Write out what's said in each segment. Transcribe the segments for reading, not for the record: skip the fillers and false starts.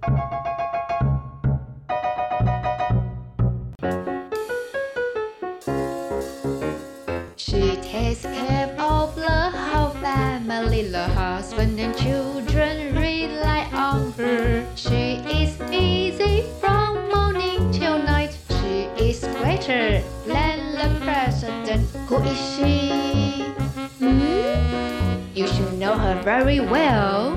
She takes care of the whole family, the husband and children rely on her. She is busy from morning till night. She is greater than the president. Who is she? You should know her very well.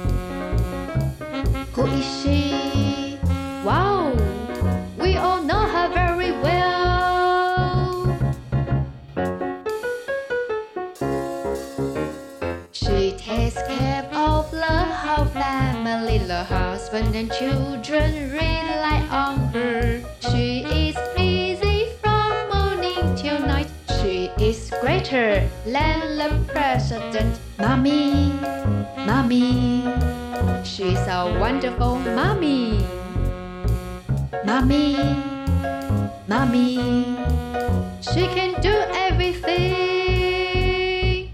Who is she? Wow, we all know her very well. She takes care of the whole family, the husband and children rely on her. She is busy from morning till night. She is greater than the president. Mommy, mommy, she's a wonderful mommy. Mommy, mommy, she can do everything.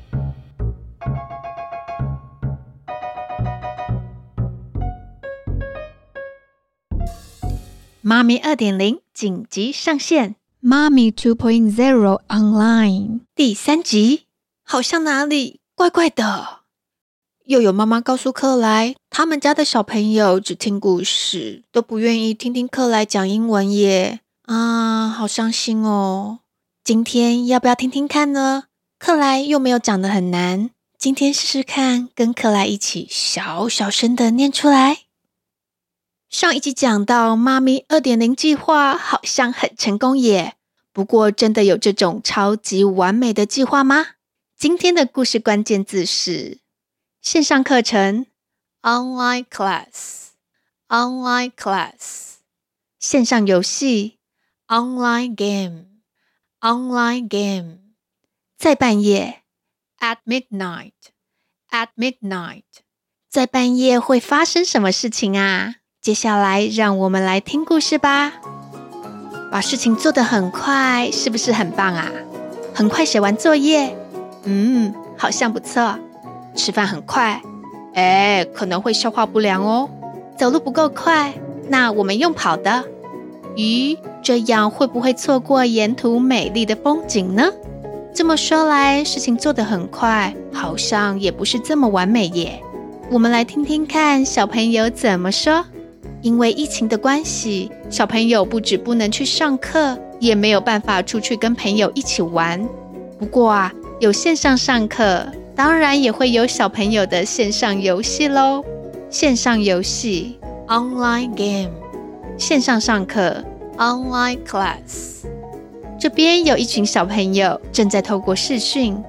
Mommy 2.0 緊急上線 Mommy 2.0 Online 第3集，好像哪裡怪怪的。又有媽媽告訴克萊，他們家的小朋友只聽故事，都不願意聽聽克萊講英文耶。好傷心哦。今天要不要聽聽看呢？克萊又沒有講得很難，今天試試看，跟克萊一起小小聲的念出來。上一集講到媽咪 2.0 計劃好像很成功耶，不過真的有這種超級完美的計劃嗎？今天的故事關鍵字是線上課程 Online class Online class 線上遊戲 Online game Online game 在半夜 At midnight At midnight 在半夜會發生什麼事情啊？接下來讓我們來聽故事吧。把事情做得很快，是不是很棒啊？很快寫完作業，好像不錯。吃飯很快，可能會消化不良哦。走路不夠快，那我們用跑的。咦，這樣會不會錯過沿途美麗的風景呢？這麼說來，事情做得很快，好像也不是這麼完美耶。我們來聽聽看小朋友怎麼說。因為疫情的關係，小朋友不只不能去上課，也沒有辦法出去跟朋友一起玩。不過有線上上課，當然也會有小朋友的線上遊戲咯。線上遊戲 Online game 線上上課 Online class 這邊有一群小朋友正在透過視訊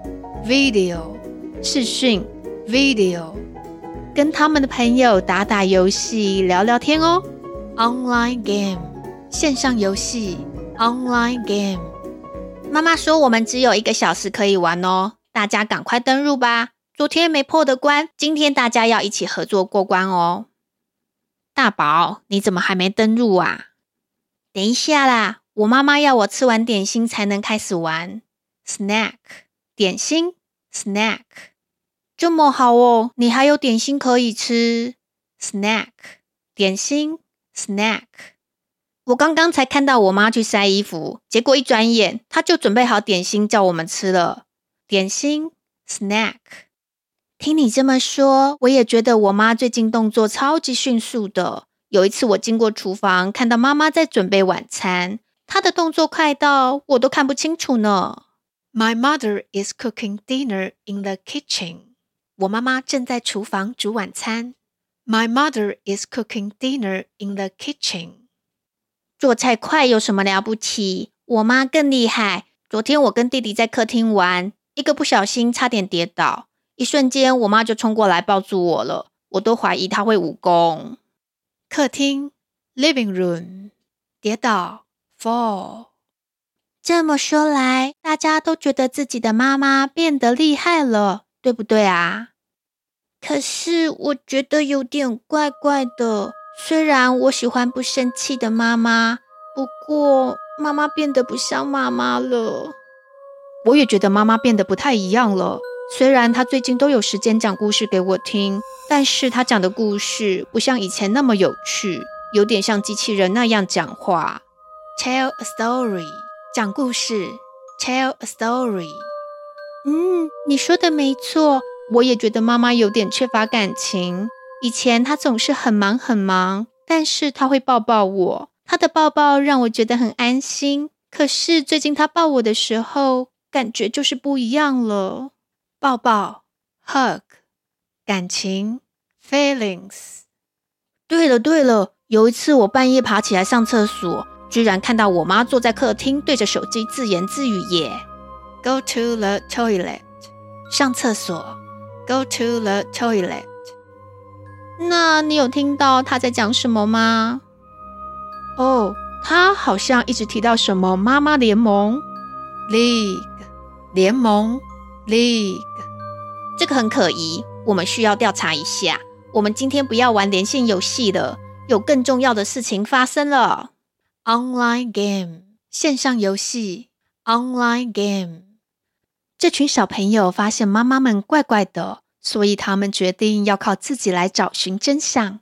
Video 視訊 Video 跟他們的朋友打打遊戲聊聊天哦。 Online game 線上遊戲 Online game 媽媽說我們只有1個小時可以玩哦，大家趕快登入吧，昨天沒破的關，今天大家要一起合作過關哦。大寶，你怎麼還沒登入啊？等一下啦，我媽媽要我吃完點心才能開始玩。Snack 點心 Snack 這麼好哦，你還有點心可以吃。Snack 點心 Snack 我剛剛才看到我媽去曬衣服，結果一轉眼她就準備好點心叫我們吃了。點心 Snack 聽你這麼說，我也覺得我媽最近動作超級迅速的。有一次我經過廚房，看到媽媽在準備晚餐，她的動作快到我都看不清楚呢。My mother is cooking dinner in the kitchen. 我媽媽正在廚房煮晚餐。My mother is cooking dinner in the kitchen. 做菜快有什麼了不起？我媽更厲害。昨天我跟弟弟在客廳玩，一個不小心差點跌倒，一瞬間我媽就衝過來抱住我了，我都懷疑她會武功。客廳 Living room 跌倒 Fall。 這麼說來，大家都覺得自己的媽媽變得厲害了，對不對啊？可是我覺得有點怪怪的，雖然我喜歡不生氣的媽媽，不過媽媽變得不像媽媽了。我也覺得媽媽變得不太一樣了， 雖然他最近都有時間講故事給我聽，但是他講的故事不像以前那麼有趣，有點像機器人那樣講話。Tell a story， 講故事。Tell a story。你說的沒錯，我也覺得媽媽有點缺乏感情。以前她總是很忙很忙，但是她會抱抱我，她的抱抱讓我覺得很安心。可是最近她抱我的時候，感覺就是不一樣了。抱抱 hug， 感情 feelings。 對了，有一次我半夜爬起來上廁所，居然看到我媽坐在客廳對着手機自言自語耶。 Go to the toilet， 上廁所 Go to the toilet。 那你有聽到她在講什麼嗎？她好像一直提到什麼媽媽聯盟 League， 聯盟 League。 這個很可疑，我們需要調查一下。我們今天不要玩連線遊戲了，有更重要的事情發生了。 Online game， 線上遊戲 Online game。 這群小朋友發現媽媽們怪怪的，所以他們決定要靠自己來找尋真相。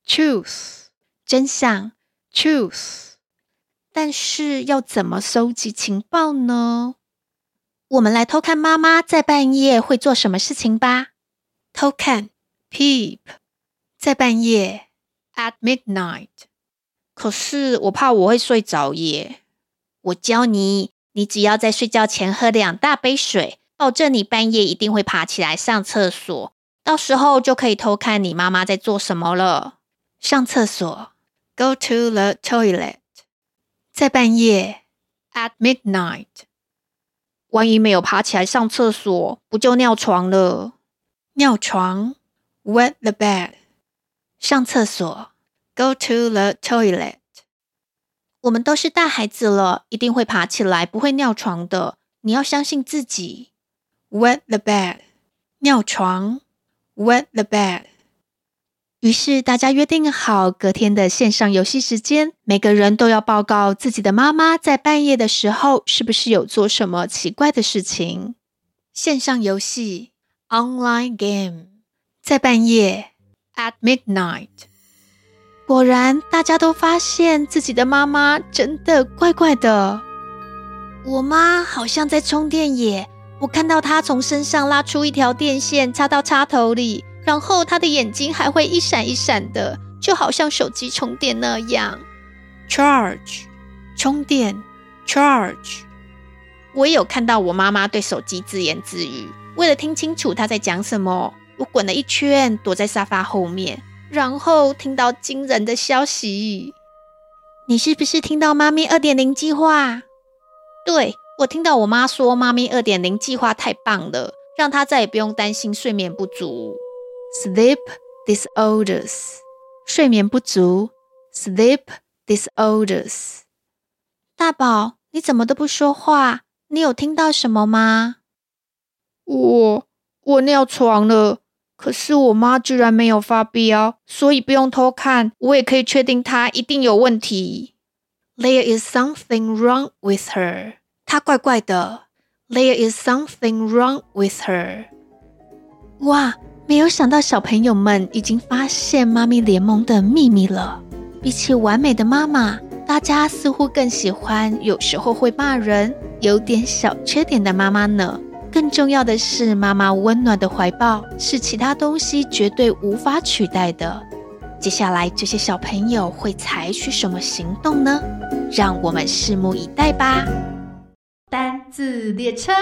Truth， 真相 Truth。 但是要怎麼搜集情報呢？我們來偷看媽媽在半夜會做什麼事情吧。偷看 peep， 在半夜 at midnight。 可是我怕我會睡着耶。我教你，你只要在睡覺前喝2大杯水，保證你半夜一定會爬起來上廁所，到時候就可以偷看你媽媽在做什麼了。上廁所 Go to the toilet， 在半夜 at midnight。 萬一沒有爬起來上廁所，不就尿床了？尿床 wet the bed， 上廁所 Go to the toilet。 我們都是大孩子了，一定會爬起來，不會尿床的。你要相信自己。 wet the bed， 尿床 wet the bed。 於是大家約定好隔天的線上遊戲時間，每個人都要報告自己的媽媽在半夜的時候是不是有做什麼奇怪的事情。線上遊戲 Online game， 在半夜 at midnight。 果然大家都發現自己的媽媽真的怪怪的。我媽好像在充電耶，我看到她從身上拉出一條電線插到插頭裡，然後她的眼睛還會一閃一閃的，就好像手機充電那樣。 Charge， 充電 Charge。 我也有看到我媽媽對手機自言自語，為了聽清楚她在講什麼，我滾了一圈躲在沙發後面，然後聽到驚人的消息。你是不是聽到媽咪 2.0 計劃？對，我聽到我媽說媽咪 2.0 計劃太棒了，讓她再也不用擔心睡眠不足。Sleep disorders， 睡眠不足 Sleep disorders。 大寶，你怎麼都不說話？你有聽到什麼嗎？我尿床了，可是我媽居然沒有發飆，所以不用偷看，我也可以確定她一定有問題。There is something wrong with her， 她怪怪的。There is something wrong with her。 哇，沒有想到小朋友們已經發現媽咪聯盟的秘密了。比起完美的媽媽，大家似乎更喜歡有時候會罵人、有點小缺點的媽媽呢。更重要的是，媽媽溫暖的懷抱是其他東西絕對無法取代的。接下來這些小朋友會採取什麼行動呢？讓我們拭目以待吧。單字列車。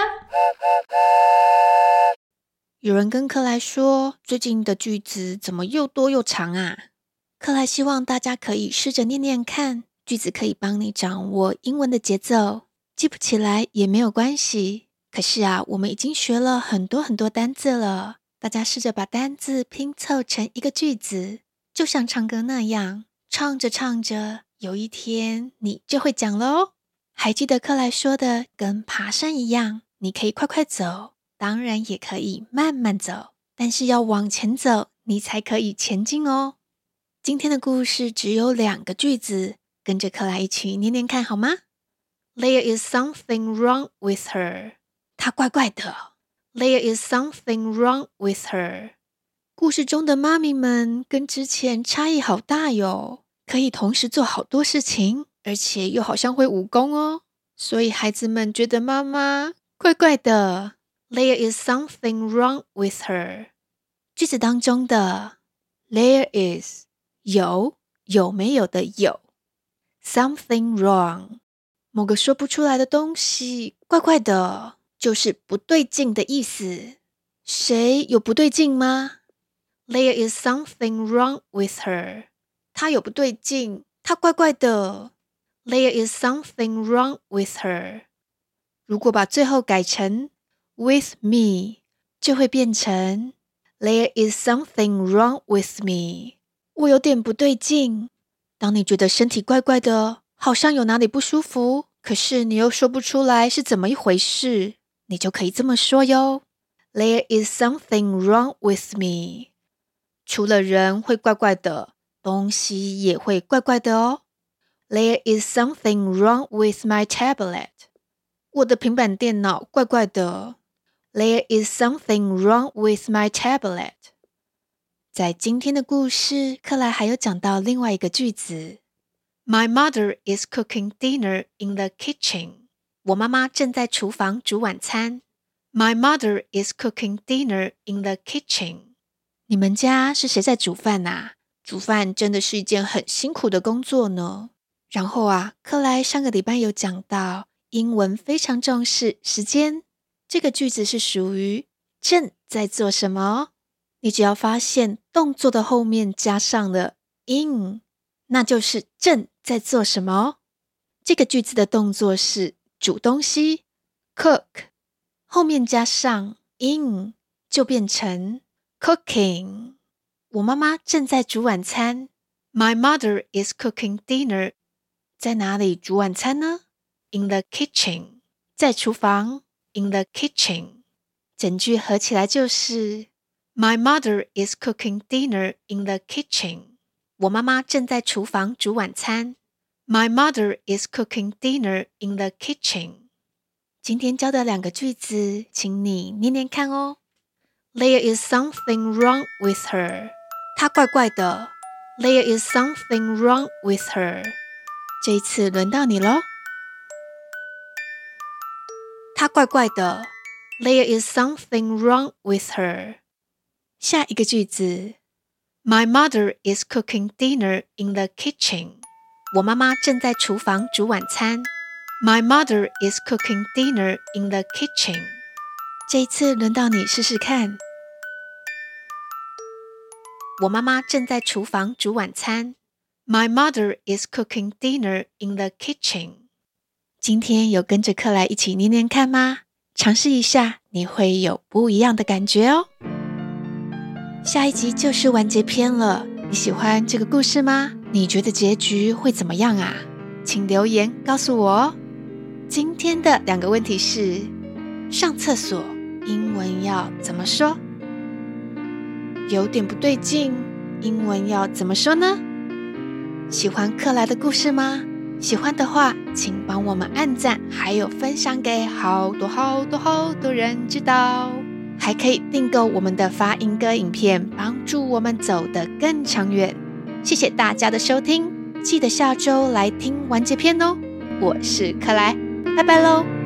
有人跟克萊說，最近的句子怎麼又多又長啊？克萊希望大家可以試着念念看，句子可以幫你掌握英文的節奏，記不起來也沒有關係。可是啊，我們已經學了很多很多單字了，大家試着把單字拼湊成一個句子，就像唱歌那樣，唱着唱着，有一天你就會講了哦。還記得克萊說的，跟爬山一樣，你可以快快走，當然也可以慢慢走，但是要往前走，你才可以前進哦。今天的故事只有2個句子，跟着克萊一起念念看好嗎？ There is something wrong with her。 她怪怪的。 There is something wrong with her. 故事中的媽咪們跟之前差異好大喲，可以同時做好多事情，而且又好像會武功哦。所以孩子們覺得媽媽怪怪的。There is something wrong with her. 句子當中的 there is 有沒有的有 something wrong 某個說不出來的東西怪怪的，就是不對勁的意思。誰有不對勁嗎？ There is something wrong with her. 她有不對勁，她怪怪的。There is something wrong with her. 如果把最後改成 with me 就會變成 There is something wrong with me. 我有點不對勁。當你覺得身體怪怪的，好像有哪裡不舒服，可是你又說不出來是怎麼一回事，你就可以這麼說喲。There is something wrong with me. 除了人會怪怪的，東西也會怪怪的哦。There is something wrong with my tablet. 我的平板電腦怪怪的。There is something wrong with my tablet. 在今天的故事，克萊還有講到另外一個句子。My mother is cooking dinner in the kitchen. 我媽媽正在廚房煮晚餐。My mother is cooking dinner in the kitchen. 你們家是誰在煮飯啊？煮飯真的是一件很辛苦的工作呢。然後克萊上個禮拜有講到，英文非常重視時間。這個句子是屬於正在做什麼？你只要發現動作的後面加上了 in， 那就是正在做什麼。這個句子的動作是煮東西 cook， 後面加上 in 就變成 cooking。我媽媽正在煮晚餐。My mother is cooking dinner. 在哪裡煮晚餐呢？ In the kitchen. 在廚房。In the kitchen. 整句合起來就是 My mother is cooking dinner in the kitchen. 我媽媽正在廚房煮晚餐。My mother is cooking dinner in the kitchen. 今天教的兩個句子，請你念念看哦。There is something wrong with her. 她怪怪的。There is something wrong with her. 這一次輪到你咯。她怪怪的。There is something wrong with her. 下一個句子 My mother is cooking dinner in the kitchen. 我媽媽正在廚房煮晚餐。My mother is cooking dinner in the kitchen. 這一次輪到你試試看。我媽媽正在廚房煮晚餐。My mother is cooking dinner in the kitchen. 今天有跟着克萊一起念念看嗎？嘗試一下，你會有不一樣的感覺哦。下一集就是完結篇了，你喜歡這個故事嗎？你覺得結局會怎麼樣啊？請留言告訴我哦。今天的兩個問題是：上廁所英文要怎麼說？有點不對勁，英文要怎麼說呢？喜歡克萊的故事嗎？喜歡的話，請幫我們按讚，還有分享給好多人知道。還可以訂購我們的發音歌影片，幫助我們走得更長遠。謝謝大家的收聽，記得下周來聽完結篇哦。我是克萊，拜拜嘍。